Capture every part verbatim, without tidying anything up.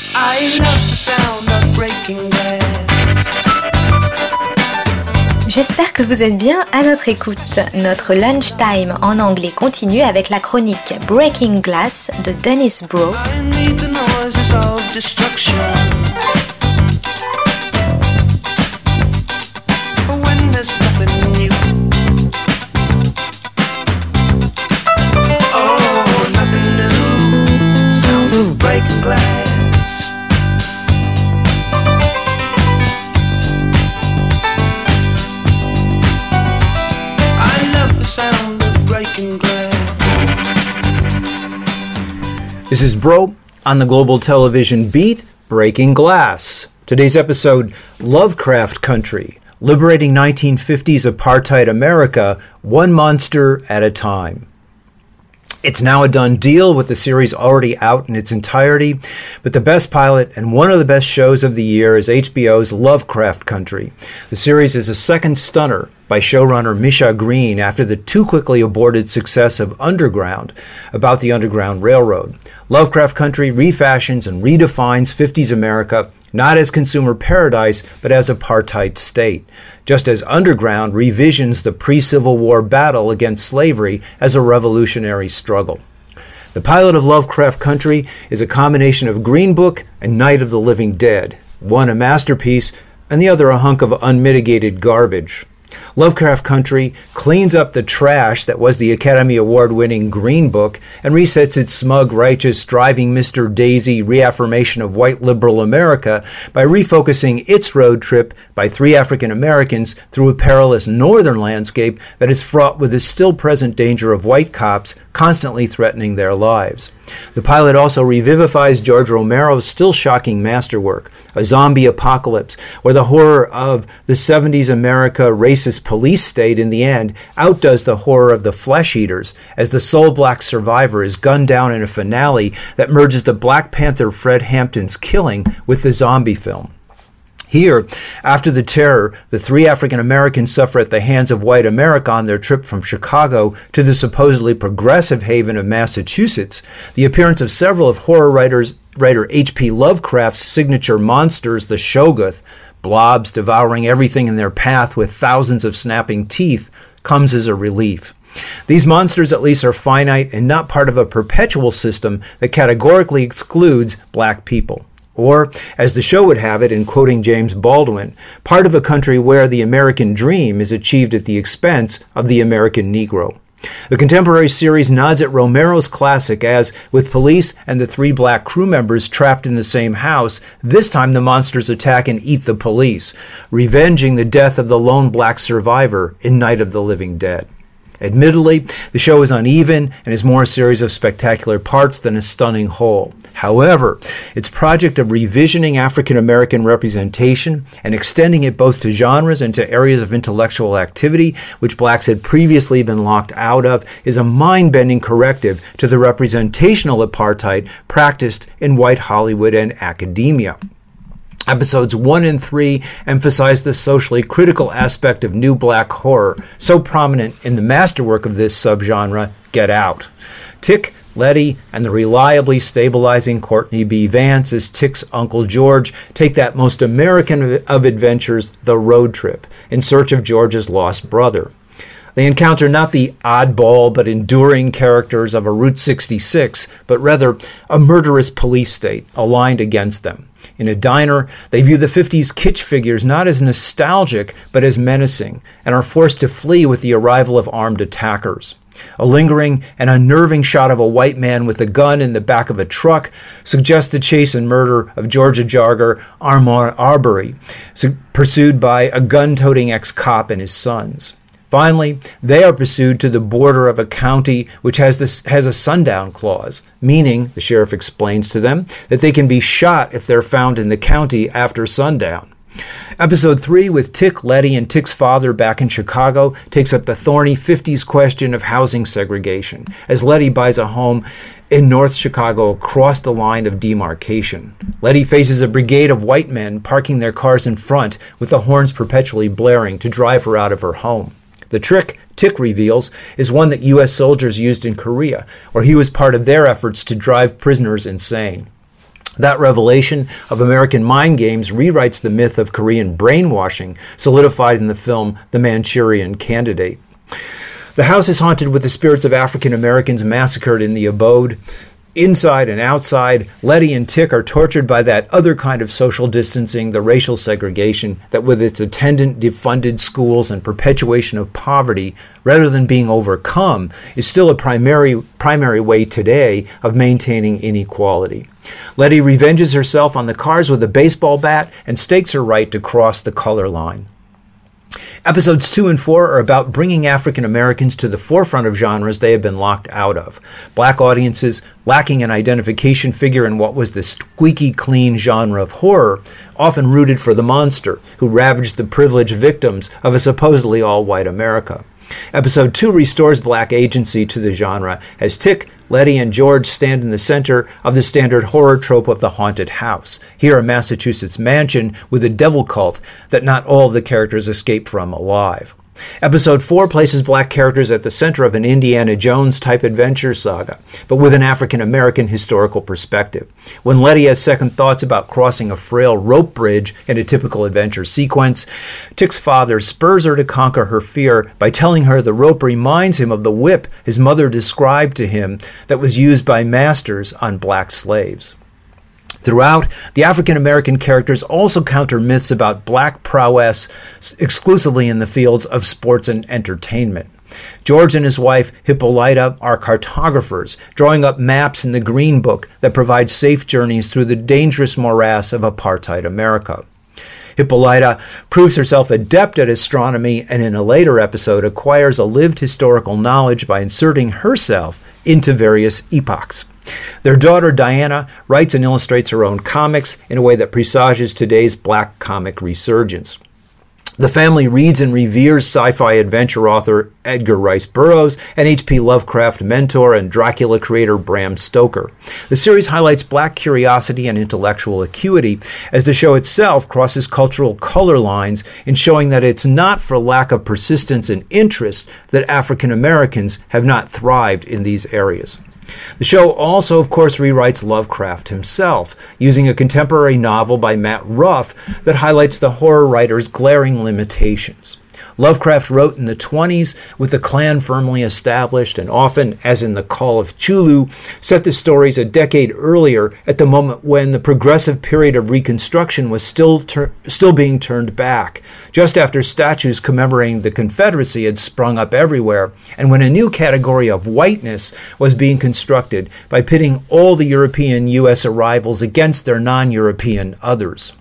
J'espère que vous êtes bien à notre écoute. Notre lunchtime en anglais continue avec la chronique Breaking Glass de Dennis Bro. This is Bro on the Global Television Beat, Breaking Glass. Today's episode, Lovecraft Country, liberating nineteen fifties apartheid America, one monster at a time. It's now a done deal with the series already out in its entirety, but the best pilot and one of the best shows of the year is H B O's Lovecraft Country. The series is a second stunner by showrunner Misha Green after the too quickly aborted success of Underground, about the Underground Railroad. Lovecraft Country refashions and redefines fifties America not as consumer paradise, but as apartheid state, just as Underground revisions the pre-Civil War battle against slavery as a revolutionary struggle. The pilot of Lovecraft Country is a combination of Green Book and Night of the Living Dead, one a masterpiece and the other a hunk of unmitigated garbage. Lovecraft Country cleans up the trash that was the Academy Award-winning Green Book and resets its smug, righteous, driving Mister Daisy reaffirmation of white liberal America by refocusing its road trip by three African Americans through a perilous northern landscape that is fraught with the still present danger of white cops constantly threatening their lives. The pilot also revivifies George Romero's still shocking masterwork, a zombie apocalypse, where the horror of the seventies America racist police state in the end outdoes the horror of the flesh eaters, as the sole black survivor is gunned down in a finale that merges the Black Panther Fred Hampton's killing with the zombie film. Here, after the terror, the three African Americans suffer at the hands of white America on their trip from Chicago to the supposedly progressive haven of Massachusetts. The appearance of several of horror writers, writer H P Lovecraft's signature monsters, the Shoggoth, blobs devouring everything in their path with thousands of snapping teeth, comes as a relief. These monsters at least are finite and not part of a perpetual system that categorically excludes black people. Or, as the show would have it in quoting James Baldwin, part of a country where the American dream is achieved at the expense of the American Negro. The contemporary series nods at Romero's classic as, with police and the three black crew members trapped in the same house, this time the monsters attack and eat the police, revenging the death of the lone black survivor in Night of the Living Dead. Admittedly, the show is uneven and is more a series of spectacular parts than a stunning whole. However, its project of revisioning African American representation and extending it both to genres and to areas of intellectual activity which blacks had previously been locked out of is a mind-bending corrective to the representational apartheid practiced in white Hollywood and academia. Episodes one and three emphasize the socially critical aspect of new black horror, so prominent in the masterwork of this subgenre, Get Out. Tick, Letty, and the reliably stabilizing Courtney B. Vance as Tick's Uncle George take that most American of adventures, the road trip, in search of George's lost brother. They encounter not the oddball but enduring characters of a Route sixty-six, but rather a murderous police state aligned against them. In a diner, they view the fifties kitsch figures not as nostalgic, but as menacing, and are forced to flee with the arrival of armed attackers. A lingering and unnerving shot of a white man with a gun in the back of a truck suggests the chase and murder of Georgia jogger Ahmaud Arbery, pursued by a gun-toting ex-cop and his sons. Finally, they are pursued to the border of a county which has this has a sundown clause, meaning, the sheriff explains to them, that they can be shot if they're found in the county after sundown. Episode three, with Tick, Letty, and Tick's father back in Chicago, takes up the thorny fifties question of housing segregation, as Letty buys a home in North Chicago across the line of demarcation. Letty faces a brigade of white men parking their cars in front with the horns perpetually blaring to drive her out of her home. The trick, Tick reveals, is one that U S soldiers used in Korea, where he was part of their efforts to drive prisoners insane. That revelation of American mind games rewrites the myth of Korean brainwashing, solidified in the film The Manchurian Candidate. The house is haunted with the spirits of African Americans massacred in the abode. Inside and outside, Letty and Tick are tortured by that other kind of social distancing, the racial segregation, that with its attendant defunded schools and perpetuation of poverty, rather than being overcome, is still a primary, primary way today of maintaining inequality. Letty revenges herself on the cars with a baseball bat and stakes her right to cross the color line. Episodes two and four are about bringing African Americans to the forefront of genres they have been locked out of. Black audiences, lacking an identification figure in what was the squeaky clean genre of horror, often rooted for the monster who ravaged the privileged victims of a supposedly all-white America. Episode two restores black agency to the genre as Tick, Letty, and George stand in the center of the standard horror trope of the haunted house. Here, a Massachusetts mansion with a devil cult that not all of the characters escape from alive. Episode four places black characters at the center of an Indiana Jones-type adventure saga, but with an African-American historical perspective. When Letty has second thoughts about crossing a frail rope bridge in a typical adventure sequence, Tick's father spurs her to conquer her fear by telling her the rope reminds him of the whip his mother described to him that was used by masters on black slaves. Throughout, the African-American characters also counter myths about black prowess exclusively in the fields of sports and entertainment. George and his wife, Hippolyta, are cartographers, drawing up maps in the Green Book that provide safe journeys through the dangerous morass of apartheid America. Hippolyta proves herself adept at astronomy and in a later episode acquires a lived historical knowledge by inserting herself into various epochs. Their daughter, Diana, writes and illustrates her own comics in a way that presages today's black comic resurgence. The family reads and reveres sci-fi adventure author Edgar Rice Burroughs and H P Lovecraft mentor and Dracula creator Bram Stoker. The series highlights black curiosity and intellectual acuity as the show itself crosses cultural color lines in showing that it's not for lack of persistence and interest that African Americans have not thrived in these areas. The show also, of course, rewrites Lovecraft himself, using a contemporary novel by Matt Ruff that highlights the horror writer's glaring limitations. Lovecraft wrote in the twenties with the Klan firmly established and often, as in The Call of Cthulhu, set the stories a decade earlier at the moment when the progressive period of Reconstruction was still ter- still being turned back, just after statues commemorating the Confederacy had sprung up everywhere, and when a new category of whiteness was being constructed by pitting all the European U S arrivals against their non-European others.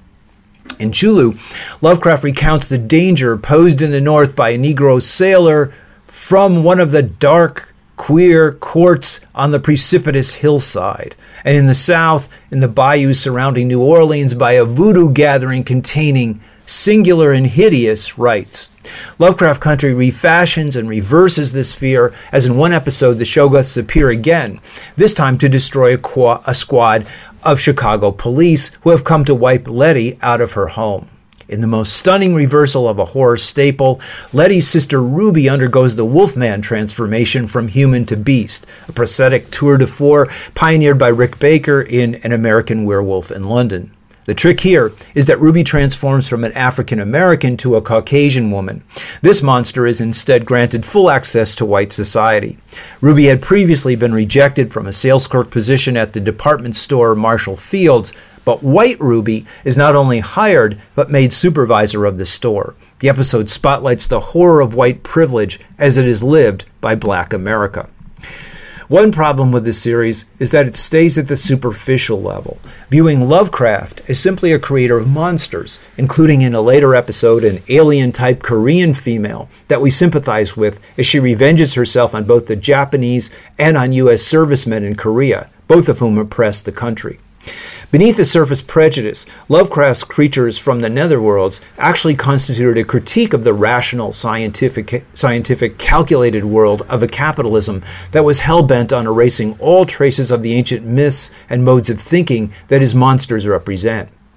In Cthulhu, Lovecraft recounts the danger posed in the North by a Negro sailor from one of the dark, queer courts on the precipitous hillside, and in the South, in the bayous surrounding New Orleans, by a voodoo gathering containing singular and hideous rites. Lovecraft Country refashions and reverses this fear, as in one episode the Shoggoths appear again, this time to destroy a, qu- a squad of Chicago police who have come to wipe Letty out of her home. In the most stunning reversal of a horror staple, Letty's sister Ruby undergoes the Wolfman transformation from human to beast, a prosthetic tour de force pioneered by Rick Baker in An American Werewolf in London. The trick here is that Ruby transforms from an African American to a Caucasian woman. This monster is instead granted full access to white society. Ruby had previously been rejected from a sales clerk position at the department store Marshall Fields, but white Ruby is not only hired, but made supervisor of the store. The episode spotlights the horror of white privilege as it is lived by black America. One problem with this series is that it stays at the superficial level, viewing Lovecraft as simply a creator of monsters, including in a later episode an alien-type Korean female that we sympathize with as she revenges herself on both the Japanese and on U S servicemen in Korea, both of whom oppressed the country. Beneath the surface prejudice, Lovecraft's creatures from the netherworlds actually constituted a critique of the rational, scientific, scientific, calculated world of a capitalism that was hell-bent on erasing all traces of the ancient myths and modes of thinking that his monsters represent.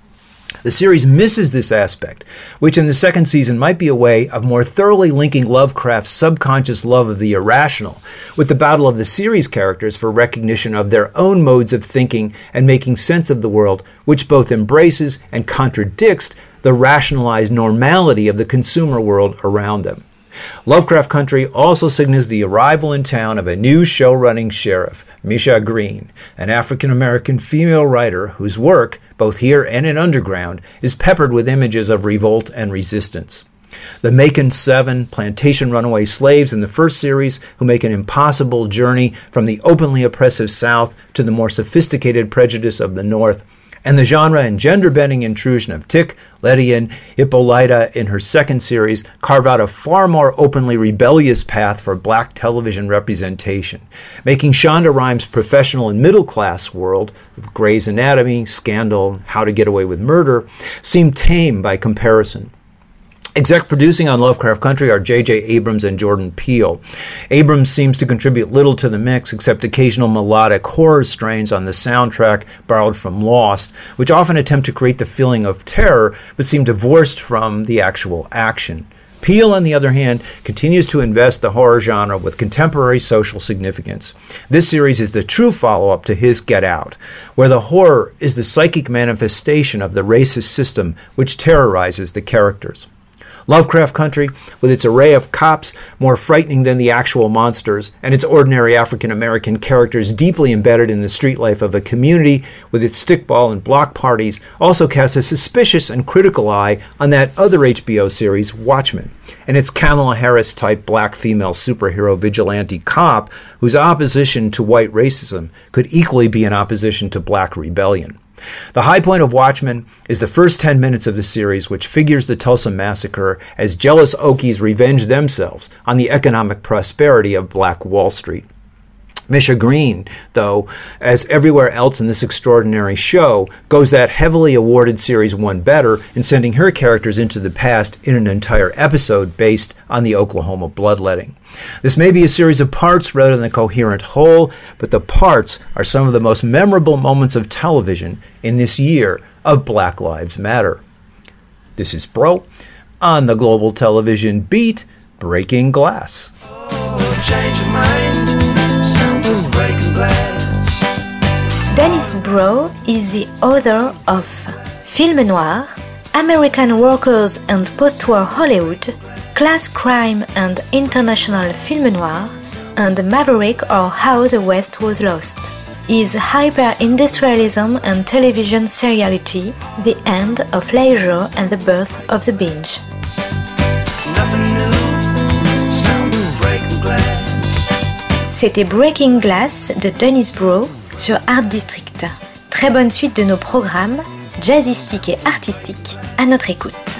The series misses this aspect, which in the second season might be a way of more thoroughly linking Lovecraft's subconscious love of the irrational with the battle of the series characters for recognition of their own modes of thinking and making sense of the world, which both embraces and contradicts the rationalized normality of the consumer world around them. Lovecraft Country also signals the arrival in town of a new show-running sheriff, Misha Green, an African-American female writer whose work, both here and in Underground, is peppered with images of revolt and resistance. The Macon Seven, plantation runaway slaves in the first series who make an impossible journey from the openly oppressive South to the more sophisticated prejudice of the North, and the genre and gender-bending intrusion of Tic, Letty, and Hippolyta in her second series carve out a far more openly rebellious path for black television representation, making Shonda Rhimes' professional and middle-class world of Grey's Anatomy, Scandal, How to Get Away with Murder seem tame by comparison. Exec producing on Lovecraft Country are J J Abrams and Jordan Peele. Abrams seems to contribute little to the mix except occasional melodic horror strains on the soundtrack borrowed from Lost, which often attempt to create the feeling of terror but seem divorced from the actual action. Peele, on the other hand, continues to invest the horror genre with contemporary social significance. This series is the true follow-up to his Get Out, where the horror is the psychic manifestation of the racist system which terrorizes the characters. Lovecraft Country, with its array of cops more frightening than the actual monsters, and its ordinary African-American characters deeply embedded in the street life of a community with its stickball and block parties, also casts a suspicious and critical eye on that other H B O series, Watchmen, and its Kamala Harris-type black female superhero vigilante cop whose opposition to white racism could equally be an opposition to black rebellion. The high point of Watchmen is the first ten minutes of the series, which figures the Tulsa Massacre as jealous Okies revenge themselves on the economic prosperity of Black Wall Street. Misha Green, though, as everywhere else in this extraordinary show, goes that heavily awarded Series one better in sending her characters into the past in an entire episode based on the Oklahoma bloodletting. This may be a series of parts rather than a coherent whole, but the parts are some of the most memorable moments of television in this year of Black Lives Matter. This is Bro on the Global Television Beat, Breaking Glass. Oh, change your mind. Dennis Brough is the author of Film Noir, American Workers and Post-War Hollywood, Class Crime and International Film Noir, and Maverick or How the West Was Lost. Is hyper-industrialism and television seriality the end of leisure and the birth of the binge? C'était Breaking Glass de Dennis Brough sur Art District. Très bonne suite de nos programmes, jazzistiques et artistiques, à notre écoute.